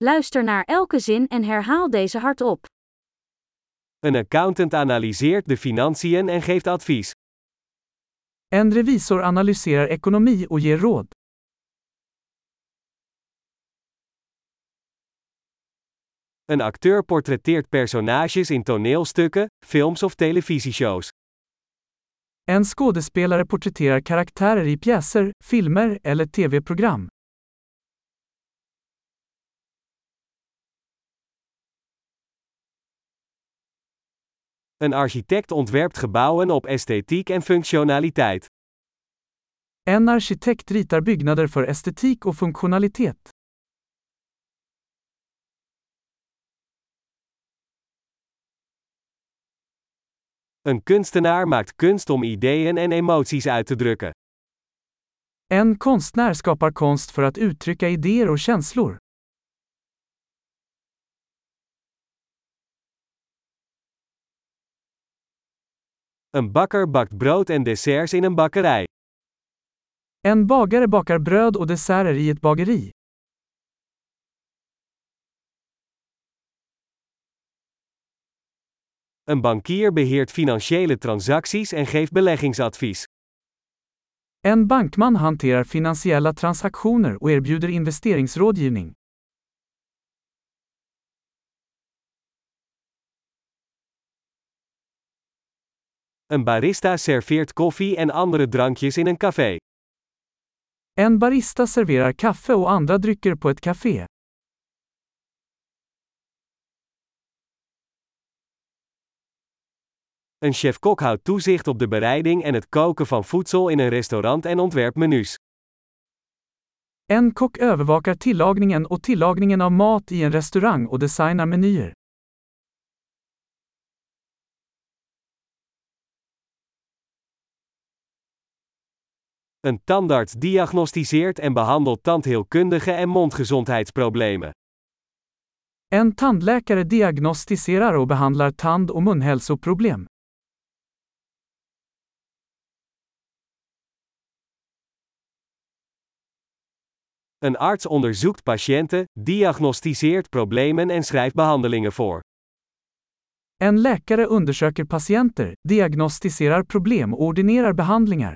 Luister naar elke zin en herhaal deze hardop. Een accountant analyseert de financiën en geeft advies. En revisor analyserar ekonomi och ger råd. Een acteur portretteert personages in toneelstukken, films of televisieshows. En skådespelare porträtterar karaktärer i pjäser, filmer eller tv-program. Een architect ontwerpt gebouwen op esthetiek en functionaliteit. En arkitekt ritar byggnader för estetik och funktionalitet. Een kunstenaar maakt kunst om ideeën en emoties uit te drukken. En konstnär skapar konst för att uttrycka idéer och känslor. Een bakker bakt brood en desserts in een bakkerij. En bagare bakar bröd och desserter i ett bageri. Een bankier beheert financiële transacties en geeft beleggingsadvies. En bankman hanterar finansiella transaktioner och erbjuder investeringsrådgivning. Een barista serveert koffie en andere drankjes in een café. En barista serverar kaffe och andra drycker på ett café. Een chef-kok houdt toezicht op de bereiding en het koken van voedsel in een restaurant en ontwerpt menus. En kock övervakar tillagningen och tillagningen av mat i en restaurang och designar menyer. Een tandarts diagnosticeert en behandelt tandheelkundige en mondgezondheidsproblemen. En tandläkare diagnostiserar och behandlar tand- och munhälsoproblem. Een arts onderzoekt patiënten, diagnosticeert problemen en schrijft behandelingen voor. En läkare undersöker patienter, diagnostiserar problem och ordinerar behandlingar.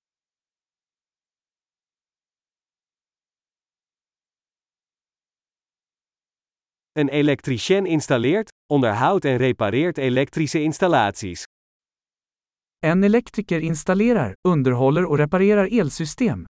Een elektricien installeert, onderhoudt en repareert elektrische installaties. En elektriker installerar, underhåller och reparerar elsystem.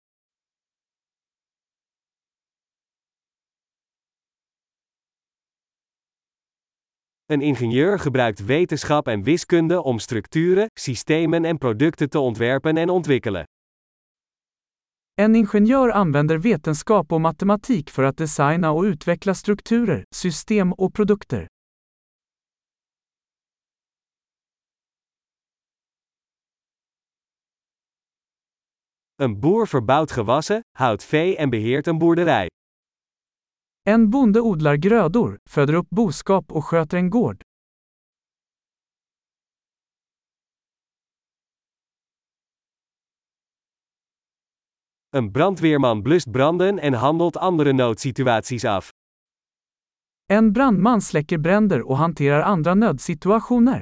Een ingenieur gebruikt wetenschap en wiskunde om structuren, systemen en producten te ontwerpen en ontwikkelen. En ingenjör använder vetenskap och matematik för att designa och utveckla strukturer, system och produkter. Een boer verbouwt gewassen, houdt vee en beheert een boerderij. En bonde odlar grödor, föder upp boskap och sköter en gård. Een brandweerman blust branden en handelt andere noodsituaties af. En brandman släcker bränder och hanterar andra nödsituationer.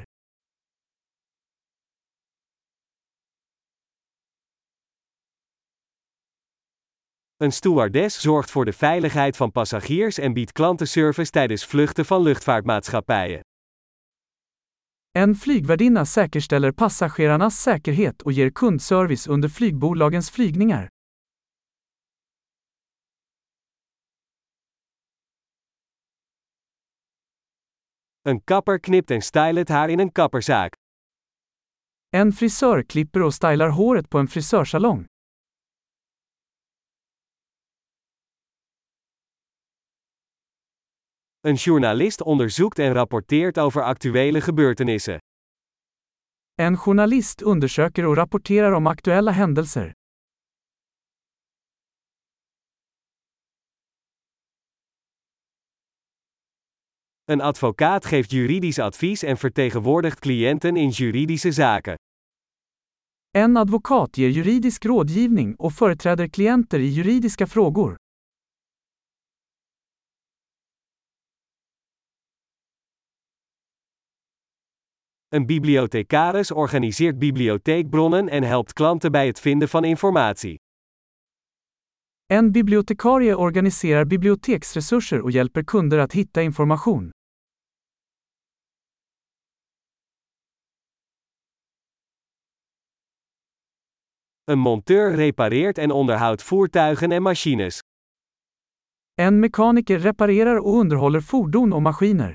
Een stewardess zorgt voor de veiligheid van passagiers en biedt klantenservice tijdens vluchten van luchtvaartmaatschappijen. En flygvärdinna säkerställer passagerarnas säkerhet och ger kundservice under flygbolagens flygningar. Een kapper knipt en stylt het haar in een kapperzaak. En frisör klipper och stylar håret på en frisörsalong. Een journalist onderzoekt en rapporteert over actuele gebeurtenissen. En journalist undersöker och rapporterar om aktuella händelser. Een advocaat geeft juridisch advies en vertegenwoordigt cliënten in juridische zaken. En advokat ger juridisk rådgivning och företräder klienter i juridiska frågor. Een bibliothecaris organiseert bibliotheekbronnen en helpt klanten bij het vinden van informatie. En bibliotekarie organiserar biblioteksresurser och hjälper kunder att hitta information. Een monteur repareert en onderhoudt voertuigen en machines. En mekaniker reparerar och underhåller fordon och maskiner.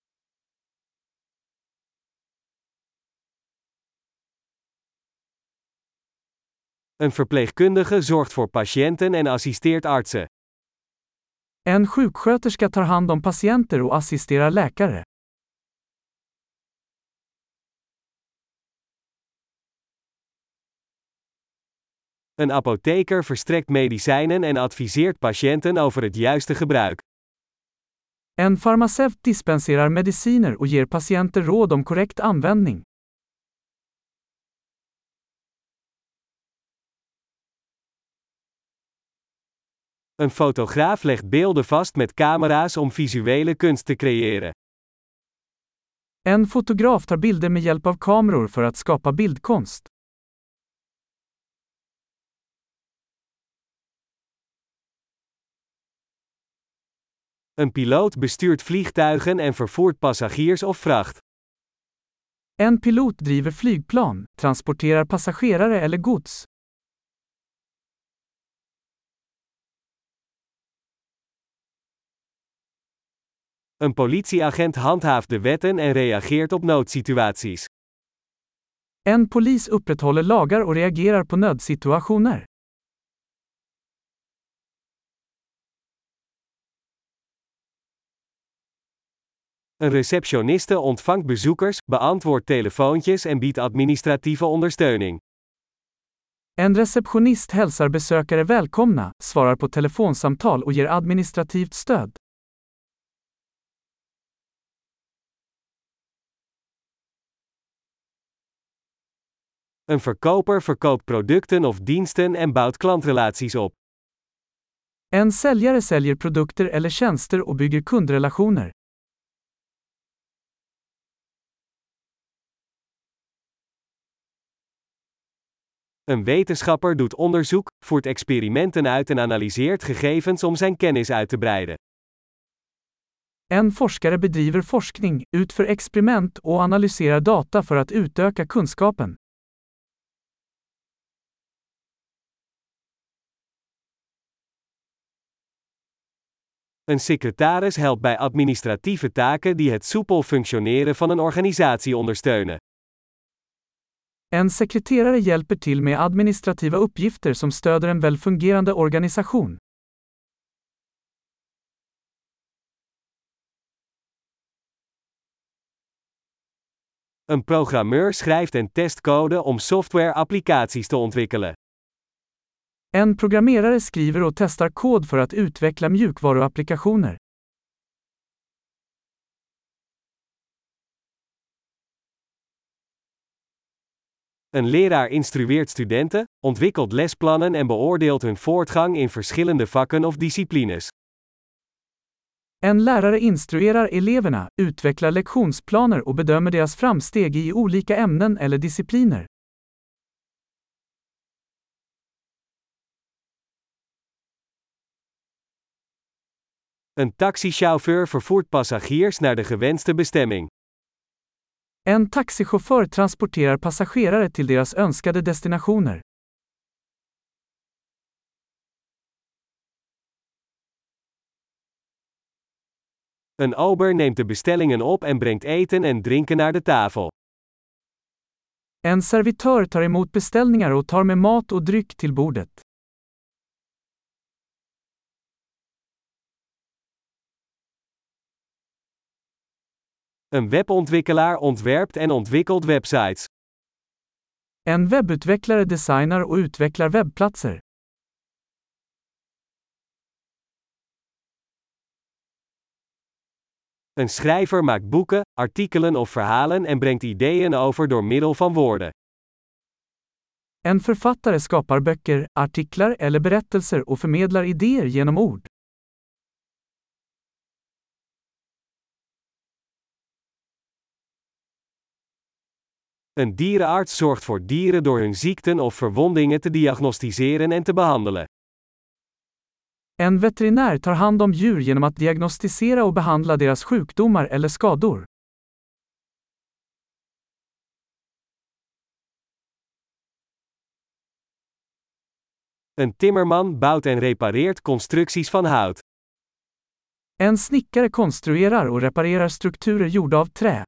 Een verpleegkundige zorgt voor patiënten en assisteert artsen. En sjuksköterska tar hand om patienter och assisterar läkare. Een apotheker verstrekt medicijnen en adviseert patiënten over het juiste gebruik. En farmaceut dispenserar mediciner och ger patienter råd om korrekt användning. Een fotograaf legt beelden vast met camera's om visuele kunst te creëren. En fotograf tar bilder med hjälp av kameror för att skapa bildkonst. Een piloot bestuurt vliegtuigen en vervoert passagiers of vracht. En pilot driver flygplan, transporterar passagerare eller gods. Een politieagent handhaaft de wetten en reageert op noodsituaties. En polis upprätthåller lagar och reagerar på nödsituationer. Een receptioniste ontvangt bezoekers, beantwoordt telefoontjes en biedt administratieve ondersteuning. En receptionist hälsar besökare välkomna, svarar på telefonsamtal och ger administrativt stöd. Een verkoper verkoopt producten of diensten en bouwt klantrelaties op. En säljare säljer produkter eller tjänster och bygger kundrelationer. Een wetenschapper doet onderzoek, voert experimenten uit en analyseert gegevens om zijn kennis uit te breiden. En forskare bedriver forskning, utför experiment och analyserar data för att utöka kunskapen. Een secretaris helpt bij administratieve taken die het soepel functioneren van een organisatie ondersteunen. En sekreterare hjälper till med administrativa uppgifter som stöder en välfungerande organisation. Een programmeur schrijft en test code om software-applicaties te ontwikkelen. En programmerare skriver och testar kod för att utveckla mjukvaruapplikationer. Een leraar instrueert studenten, ontwikkelt lesplannen en beoordeelt hun voortgang in verschillende vakken of disciplines. En lärare instruerar eleverna, utvecklar lektionsplaner och bedömer deras framsteg i olika ämnen eller discipliner. Een taxichauffeur vervoert passagiers naar de gewenste bestemming. En taxichaufför transporterar passagerare till deras önskade destinationer. Een ober neemt de bestellingen op en brengt eten en drinken naar de tafel. En servitör tar emot beställningar och tar med mat och dryck till bordet. Een webontwikkelaar ontwerpt en ontwikkelt websites. En webbutvecklare designar och utvecklar webbplatser. Een schrijver maakt boeken, artikelen of verhalen en brengt ideeën over door middel van woorden. En författare skapar böcker, artiklar eller berättelser och förmedlar idéer genom ord. Een dierenarts zorgt voor dieren door hun ziekten of verwondingen te diagnosticeren en te behandelen. En veterinär tar hand om djur genom att diagnostisera och behandla deras sjukdomar eller skador. Een timmerman bouwt en repareert constructies van hout. En snickare konstruerar och reparerar strukturer gjorda av trä.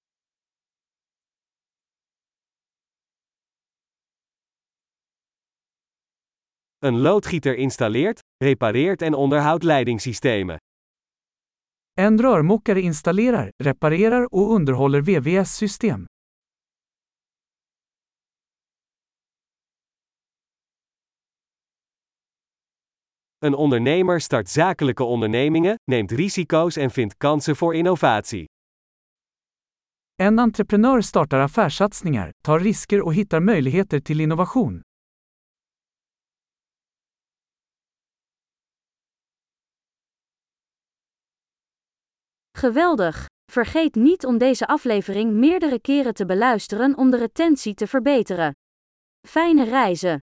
Een loodgieter installeert, repareert en onderhoudt leidingssystemen. En rörmokare installerar, reparerar och underhåller VVS-system. Een ondernemer start zakelijke ondernemingen, neemt risico's en vindt kansen voor innovatie. En entreprenör startar affärssatsningar, tar risker och hittar möjligheter till innovation. Geweldig! Vergeet niet om deze aflevering meerdere keren te beluisteren om de retentie te verbeteren. Fijne reizen!